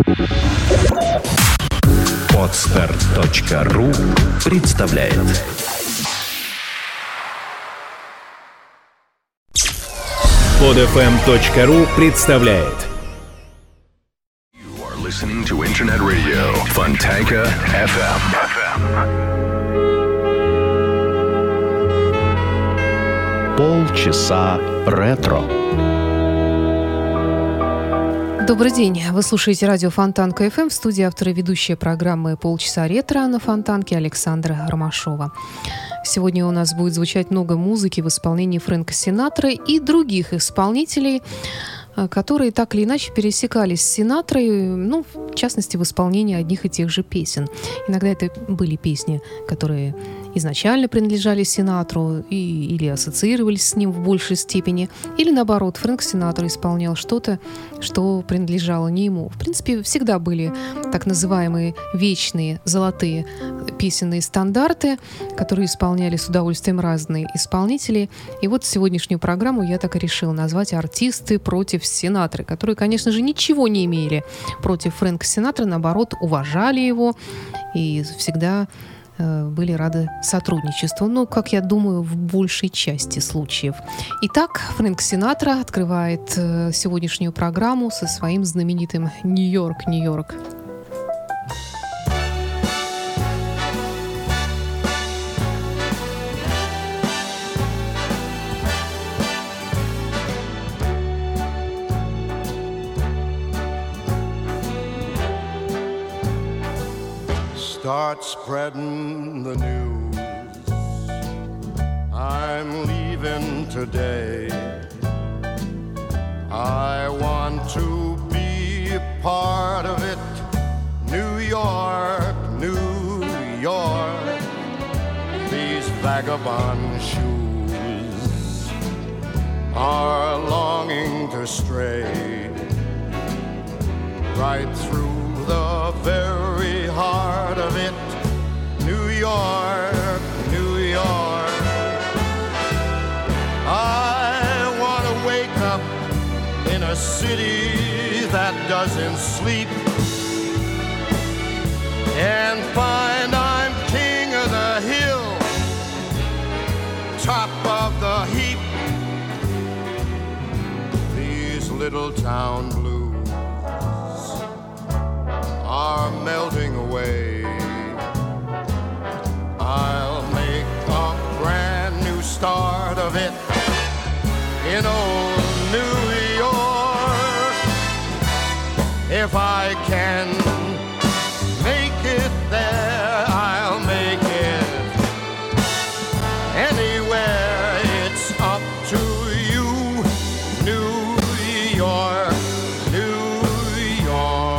Podster.ru представляет. Podfm.ru представляет. You are listening to Internet Radio Fontanka FM. Полчаса ретро. Добрый день. Вы слушаете радио Фонтанка ФМ. В студии автор и ведущая программы «Полчаса ретро» на Фонтанке Александра Ромашова. Сегодня у нас будет звучать много музыки в исполнении Фрэнка Синатры и других исполнителей, которые так или иначе пересекались с Синатрой, в частности, в исполнении одних и тех же песен. Иногда это были песни, которые изначально принадлежали Синатру или ассоциировались с ним в большей степени, или наоборот, Фрэнк Синатра исполнял что-то, что принадлежало не ему. В принципе, всегда были так называемые вечные золотые песенные стандарты, которые исполняли с удовольствием разные исполнители. И вот сегодняшнюю программу я так и решила назвать «Артисты против Синатры», которые, конечно же, ничего не имели против Фрэнка Синатры, наоборот, уважали его и всегда были рады сотрудничеству, как я думаю, в большей части случаев. Итак, Фрэнк Синатра открывает сегодняшнюю программу со своим знаменитым «Нью-Йорк, Нью-Йорк». Start spreading the news. I'm leaving today. I want to be a part of it. New York, New York. These vagabond shoes are longing to stray right through the very heart of it. New York, New York. I want to wake up in a city that doesn't sleep and find I'm king of the hill, top of the heap. These little town blues are melting away. I'll make a brand new start of it in old New York. If I can make it there, I'll make it anywhere. It's up to you, New York, New York.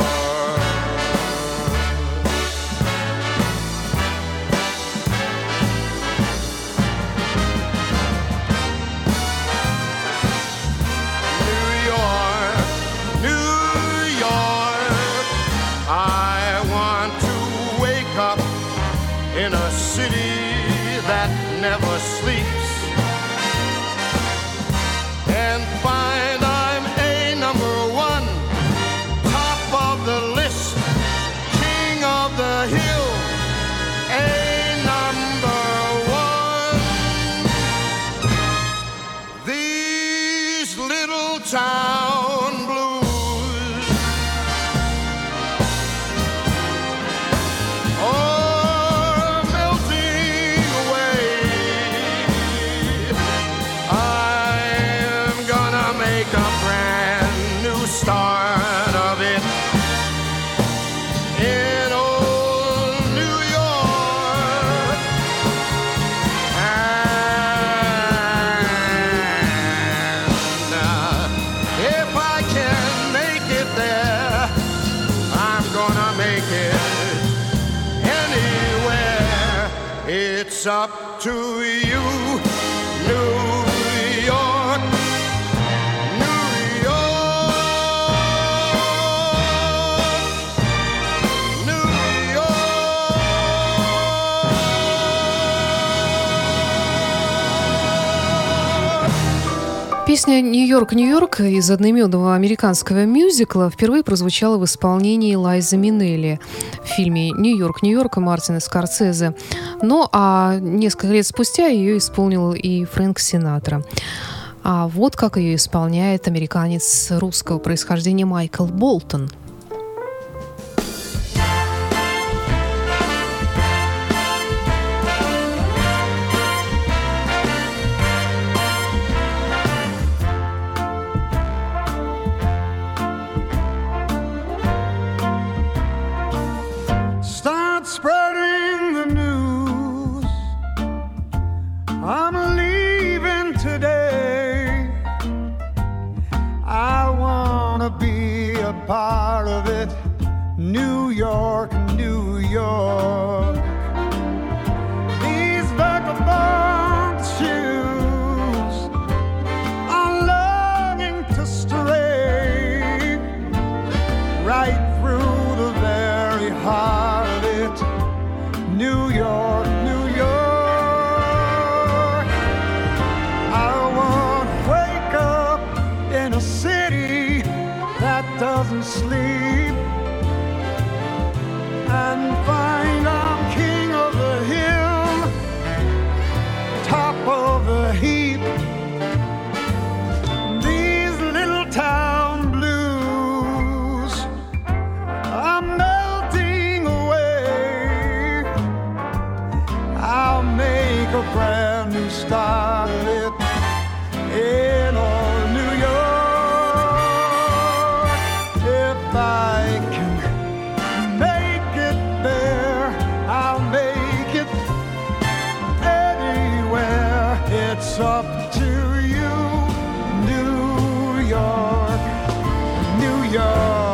In a city that never sleeps and find I'm a number one, top of the list, king of the hill, a number one. These little town blues start of it in old New York. And if I can make it there, I'm gonna make it anywhere. It's up to you, New York. Песня «Нью-Йорк, Нью-Йорк» из одноименного американского мюзикла впервые прозвучала в исполнении Лайзы Минелли в фильме «Нью-Йорк, Нью-Йорк» Мартина Скорсезе. Ну, а несколько лет спустя ее исполнил и Фрэнк Синатра. А вот как ее исполняет американец русского происхождения Майкл Болтон. Spreading the news, I'm leaving today. I wanna be a part of it. New York, New York. These vagabond shoes are longing to stray right through the very heart of it. New York, New York. I want to wake up in a city that doesn't sleep and find I'm king of the hill, top of the heap. These little town blues are melting away. I'll make a brand new start of it in old New York. If I can make it there, I'll make it anywhere. It's up to you, New York, New York.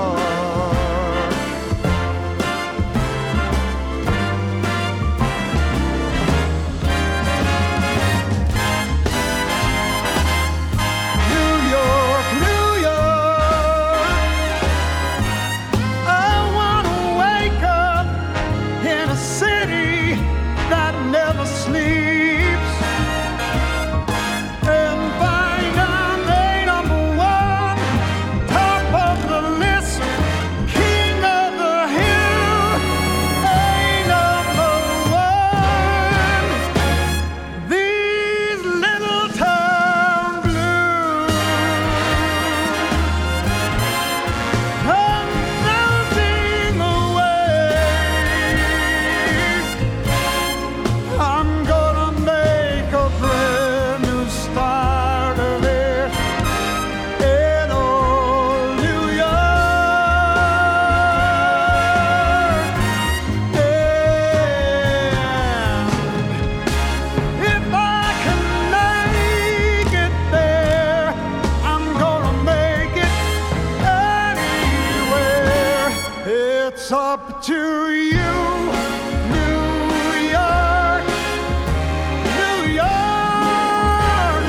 It's up to you, New York, New York,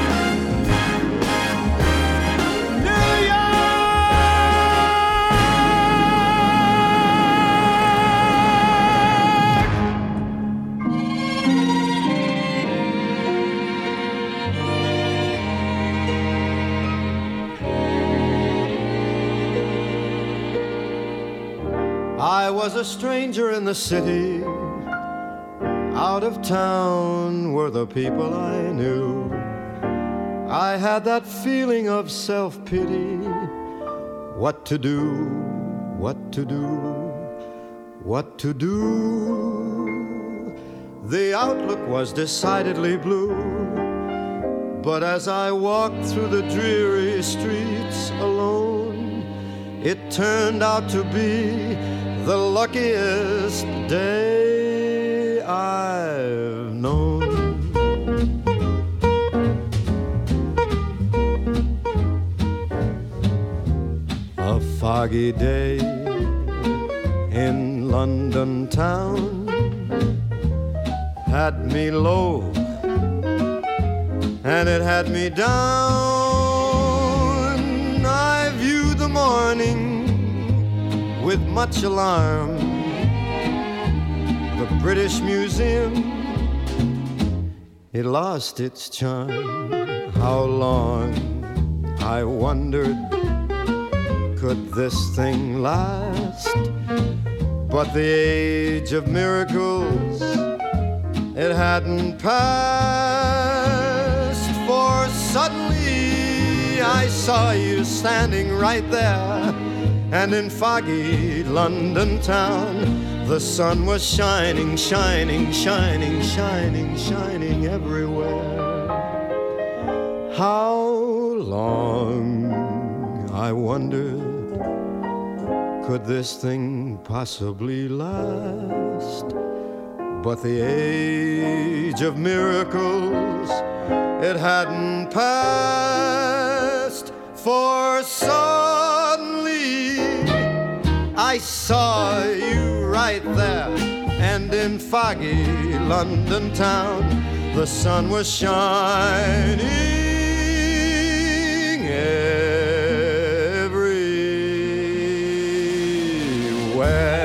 New I was a stranger in the city. Out of town were the people I knew. I had that feeling of self-pity. What to do, what to do, what to do. The outlook was decidedly blue. But as I walked through the dreary streets alone, it turned out to be the luckiest day I've known. A foggy day in London town had me low, and it had me down. I viewed the morning with much alarm. The British Museum, it lost its charm. How long I wondered, could this thing last? But the age of miracles, it hadn't passed. For suddenly I saw you standing right there, and in foggy London town, the sun was shining, shining, shining, shining, shining everywhere. How long, I wondered, could this thing possibly last? But the age of miracles, it hadn't passed. For suddenly I saw you right there, and in foggy London town, the sun was shining everywhere.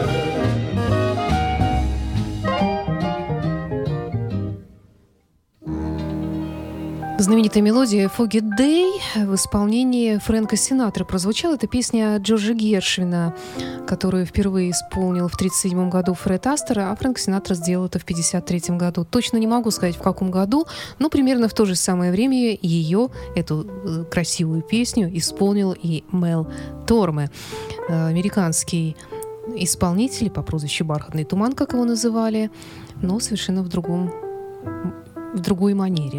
Знаменитая мелодия «Foggy Day» в исполнении Фрэнка Синатры прозвучала. Это песня Джорджа Гершвина, которую впервые исполнил в 1937 году Фред Астер, а Фрэнк Синатра сделал это в 1953 году. Точно не могу сказать, в каком году, но примерно в то же самое время ее, эту красивую песню, исполнил и Мел Торме, американский исполнитель по прозвищу «Бархатный туман», как его называли, но совершенно в другой манере.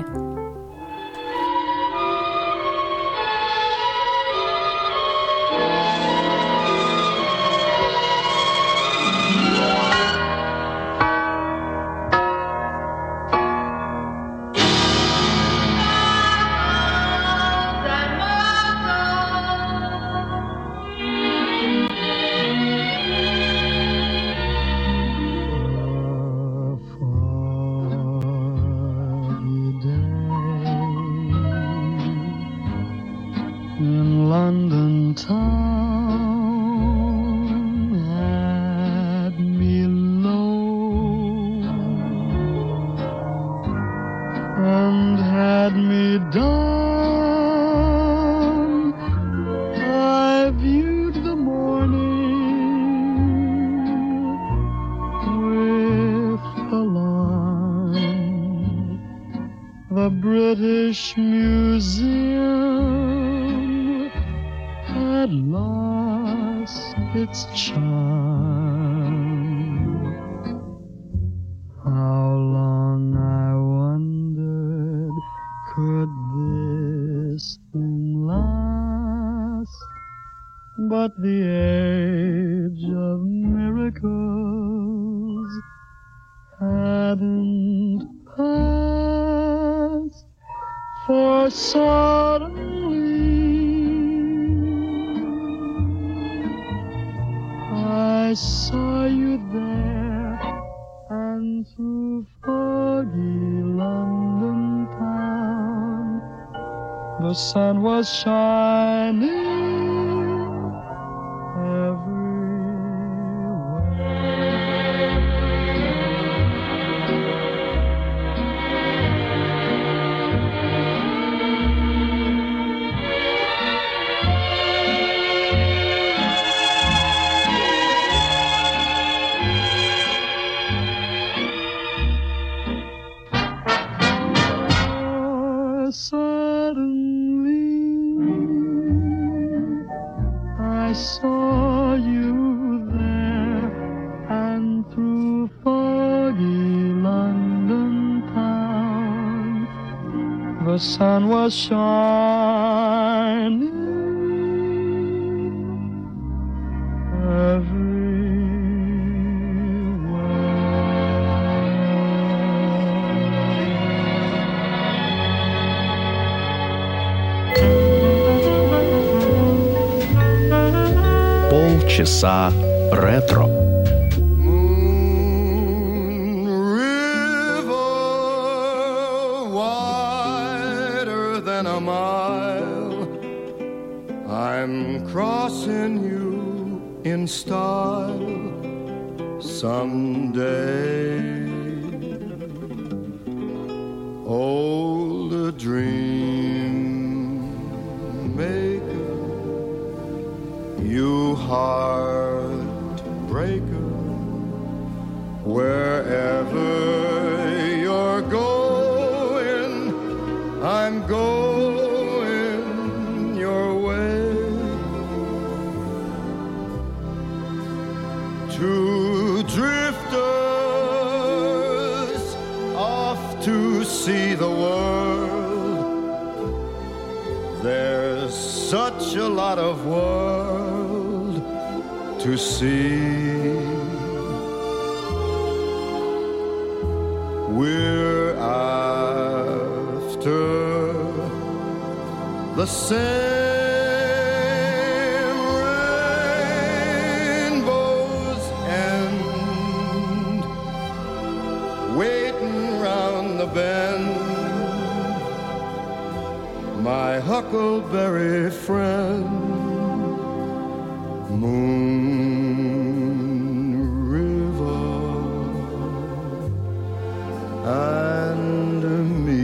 The British Museum had lost its charm. How long, I wondered, could this thing last? But the age of miracles hadn't passed. For suddenly I saw you there, and through foggy London town the sun was shining Suddenly I saw you there, and through foggy London town the sun was shining everywhere. Полчаса ретро. Moon River, wider than a mile, I'm crossing you in style someday. Old dream you heartbreaker, wherever you're going, I'm going your way. Two drifters off to see the world. There's such a lot of world to see. We're after the same rainbow's end, waiting round the bend. My huckleberry friend, Moon River, and me.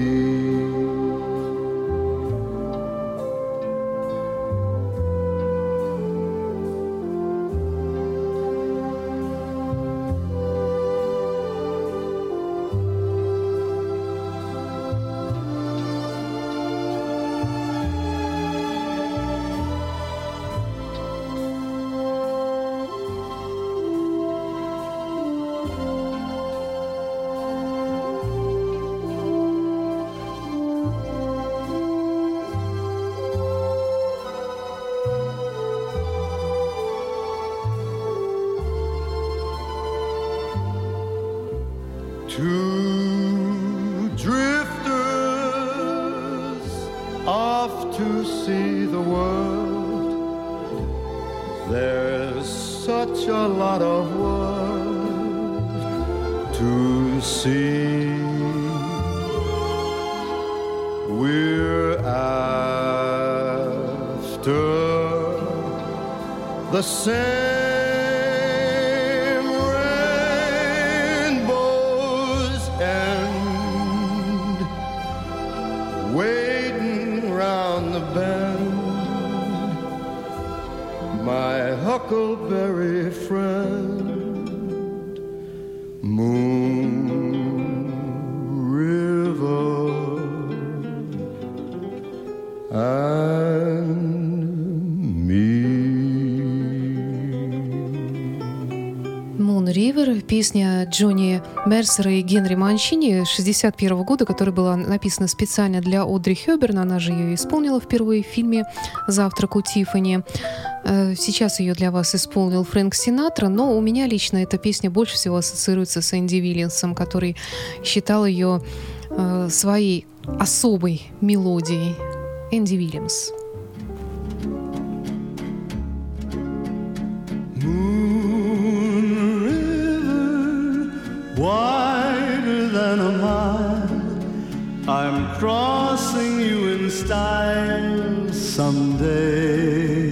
Two drifters off to see the world. There's such a lot of world to see. We're after the same huckleberry friend, Moon River, and me. Moon River, песня Джонни Мерсера и Генри Манчини 1961 года, которая была написана специально для Одри Хёбберн. Она же ее исполнила впервые в фильме «Завтрак у Тиффани». Сейчас ее для вас исполнил Фрэнк Синатра, но у меня лично эта песня больше всего ассоциируется с Энди Вильямсом, который считал ее своей особой мелодией. Энди Вильямс. Moon River, wider than a mile, I'm crossing you in style someday.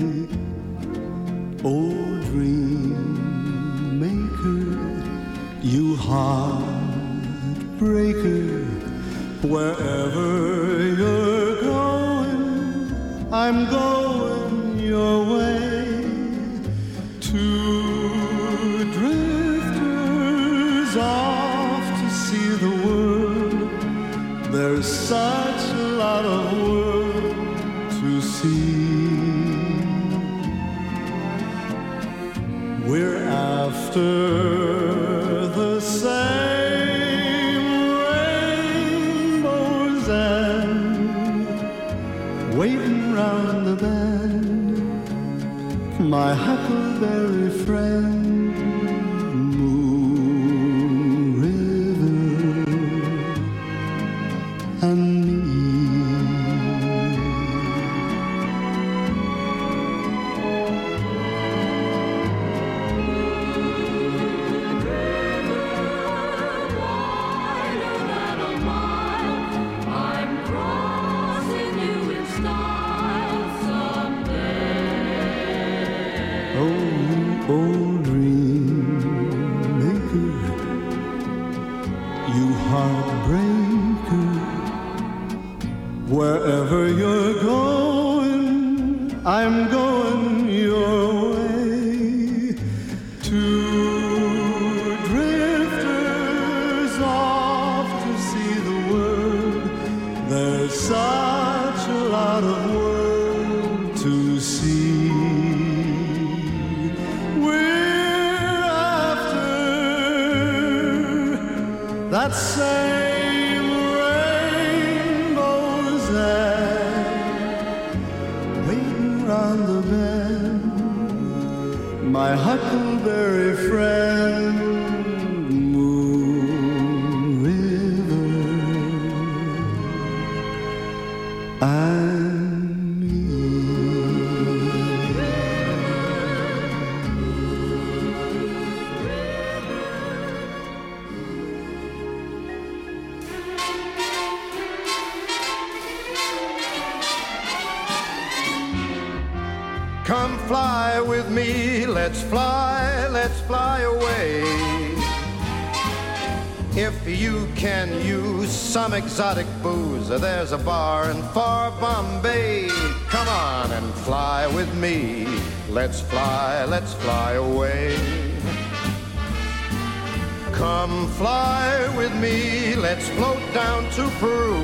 Oh, dream maker, you heartbreaker, wherever you're going, I'm going your way. Two drifters off to see the world. There's such a lot of world to see. We're after the same rainbow's end, waiting round the bend. My huckleberry friend, Moon River, and me. Old dream maker, you heartbreaker, wherever you're going, I'm going your Two drifters off to see the world. There's such a lot of world to see. We're after that same rainbow's end, waiting round the bend. My huckleberry friend, Moon River, and me. Come fly with me, let's fly away. If you can use some exotic booze, there's a bar in far Bombay. Come on and fly with me, let's fly away. Come fly with me, let's float down to Peru.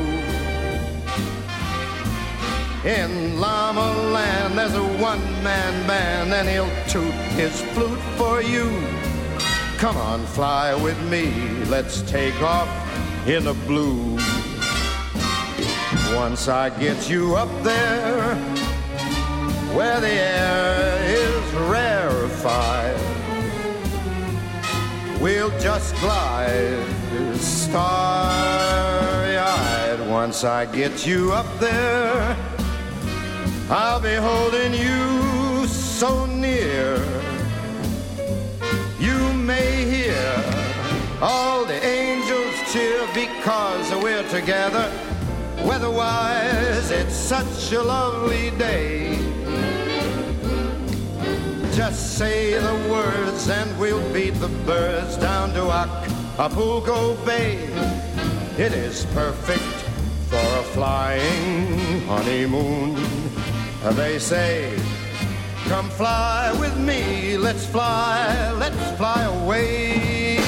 In Llama Land there's a one-man band, and he'll toot his flute for you. Come on, fly with me, let's take off in the blue. Once I get you up there, where the air is rarefied, we'll just glide starry-eyed. Once I get you up there, I'll be holding you so near. You may hear all the angels cheer because we're together. Weather-wise, it's such a lovely day. Just say the words and we'll beat the birds down to Acapulco Bay. It is perfect for a flying honeymoon. They say, come fly with me, let's fly away.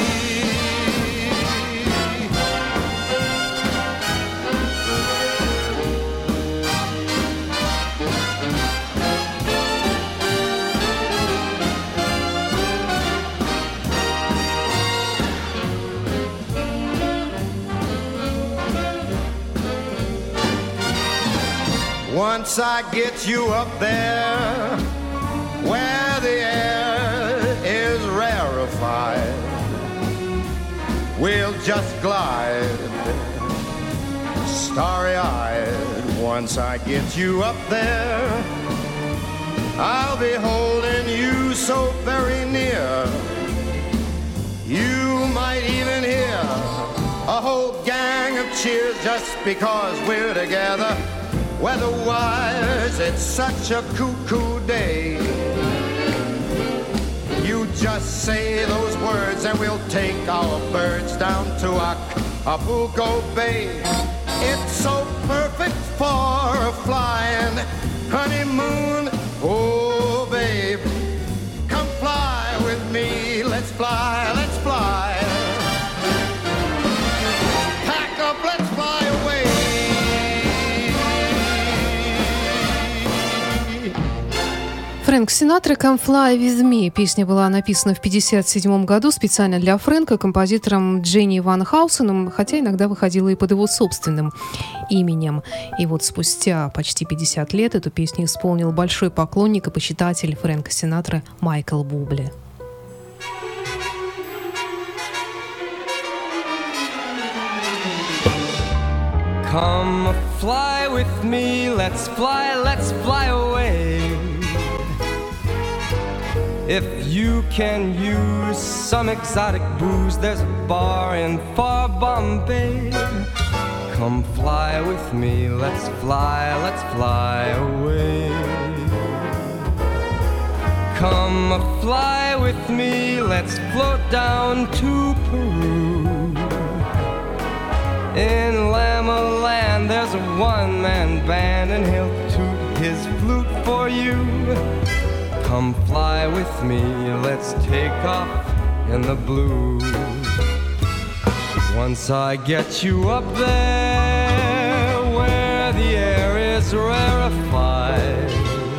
Once I get you up there, where the air is rarefied, we'll just glide starry-eyed. Once I get you up there, I'll be holding you so very near. You might even hear a whole gang of cheers just because we're together. Weather-wise, it's such a cuckoo day. You just say those words and we'll take our birds down to Acapulco Bay. It's so perfect for a flying honeymoon. Oh, babe, come fly with me. Let's fly, let's fly. Pack up, let's fly away. Фрэнк Синатра «Come Fly With Me». Песня была написана в 1957 году специально для Фрэнка композитором Дженни Ван Хаусеном, хотя иногда выходила и под его собственным именем. И вот спустя почти 50 лет эту песню исполнил большой поклонник и почитатель Фрэнка Синатры Майкл Бубле. Come fly with me, let's fly away. If you can use some exotic booze, there's a bar in far Bombay. Come fly with me, let's fly away. Come fly with me, let's float down to Peru. In Llama Land there's a one-man band, and he'll toot his flute for you. Come fly with me, let's take off in the blue. Once I get you up there where the air is rarefied,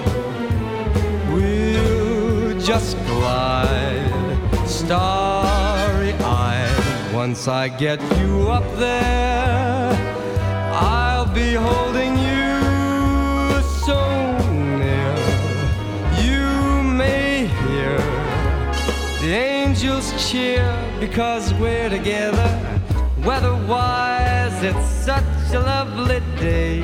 we'll just glide starry-eyed. Once I get you up there, I'll be holding you so near. You may hear the angels cheer because we're together. Weather-wise, it's such a lovely day.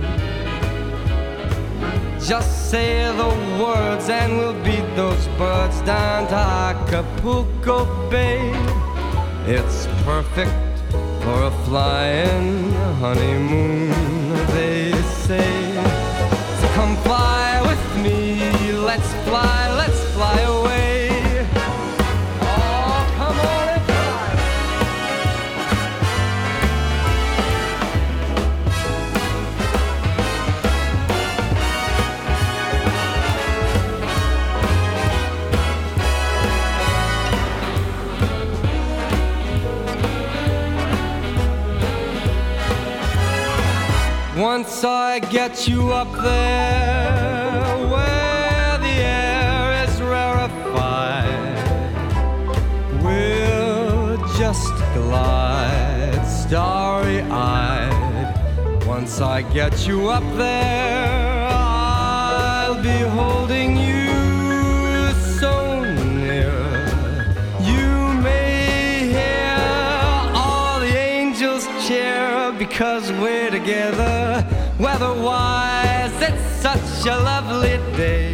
Just say the words and we'll beat those birds down to Acapulco Bay. It's perfect for a flying honeymoon, they say. So come fly with me, let's fly away. Oh, come on and fly. Once I get you up there where the air is rarefied, we'll just glide starry-eyed. Once I get you up there, I'll be holding you so near. You may hear all the angels cheer because we're together. Weather-wise, it's such a lovely day.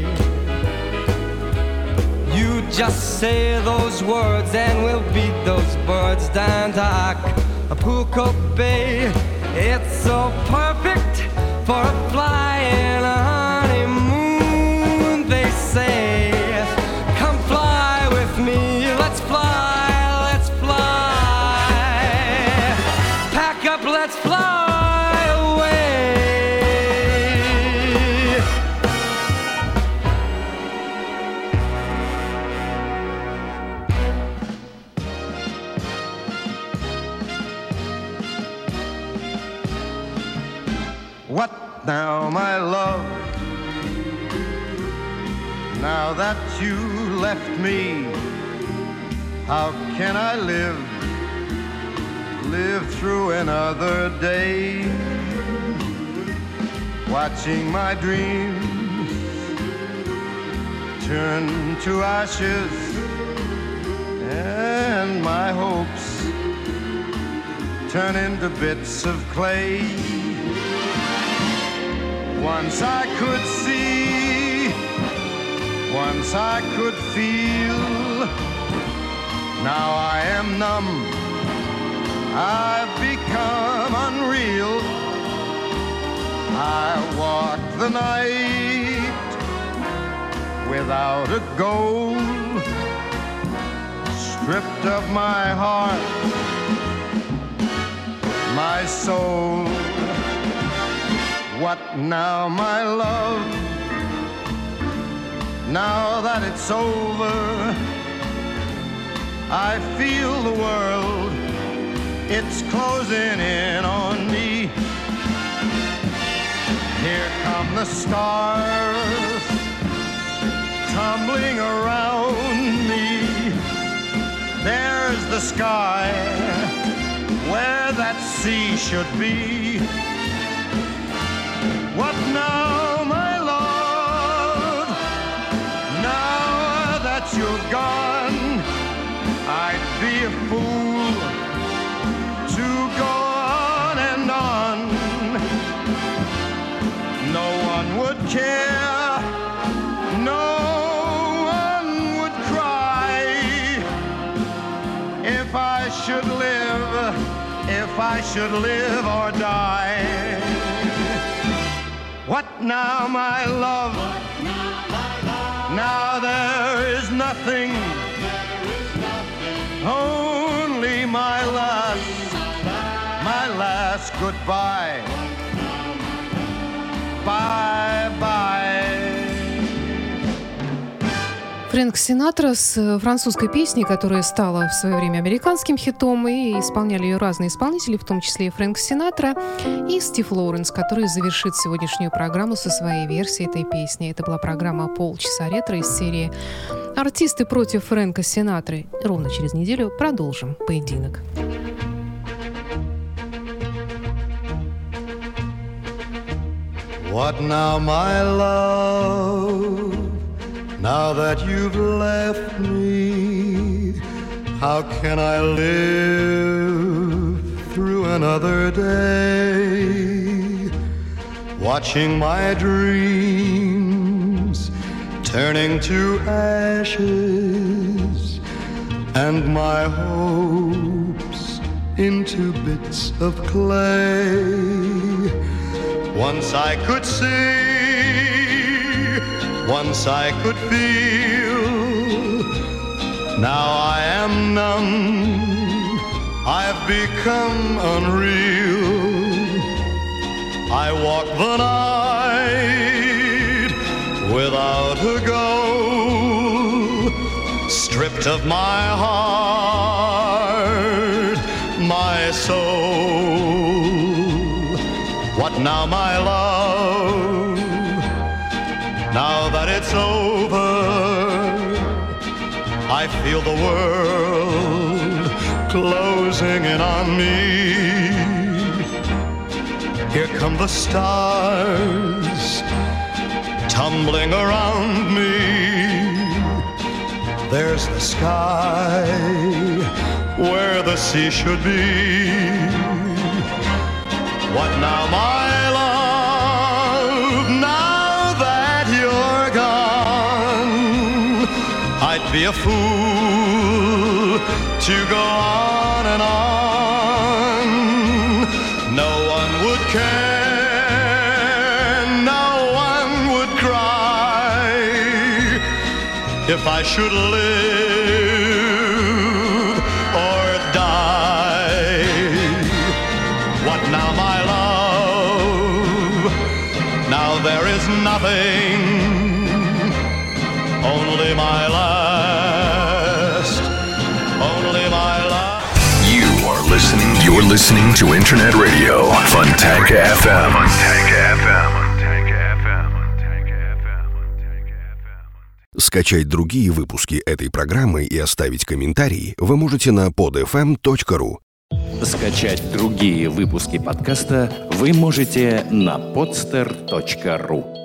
You just say those words and we'll beat those birds down to Acapulco Bay. It's so perfect for a flying honeymoon, they say. Come fly with me, let's fly, let's fly. Pack up, let's fly. What now, my love? Now that you left me, how can I live through another day? Watching my dreams turn to ashes and my hopes turn into bits of clay. Once I could see, once I could feel, now I am numb, I've become unreal. I walk the night without a goal, stripped of my heart, my soul. What now, my love? Now that it's over, I feel the world, it's closing in on me. Here come the stars tumbling around me. There's the sky where that sea should be. What now, my love? Now that you're gone, I'd be a fool to go on and on. No one would care, no one would cry if I should live or die. What now, my love? Now there is nothing, only my last goodbye. Bye bye. Фрэнк Синатра с французской песней, которая стала в свое время американским хитом, и исполняли ее разные исполнители, в том числе и Фрэнк Синатра, и Стив Лоуренс, который завершит сегодняшнюю программу со своей версией этой песни. Это была программа «Полчаса ретро» из серии «Артисты против Фрэнка Синатры». Ровно через неделю продолжим поединок. What now, my love? Now that you've left me, how can I live through another day? Watching my dreams turning to ashes and my hopes into bits of clay. Once I could see, once I could feel, now I am numb, I've become unreal. I walk the night without a goal, stripped of my heart, my soul. What now, my love? Now that it's over, I feel the world closing in on me. Here come the stars tumbling around me. There's the sky where the sea should be. What now, my love? Now that you're gone, I'd be a fool to go on and on. No one would care, no one would cry if I should live or die. What now, my love? Now there is nothing, only my last, only my last. You're listening to Internet Radio, Fontanka FM. Скачать другие выпуски этой программы и оставить комментарии вы можете на podfm.ru. Скачать другие выпуски подкаста вы можете на podster.ru.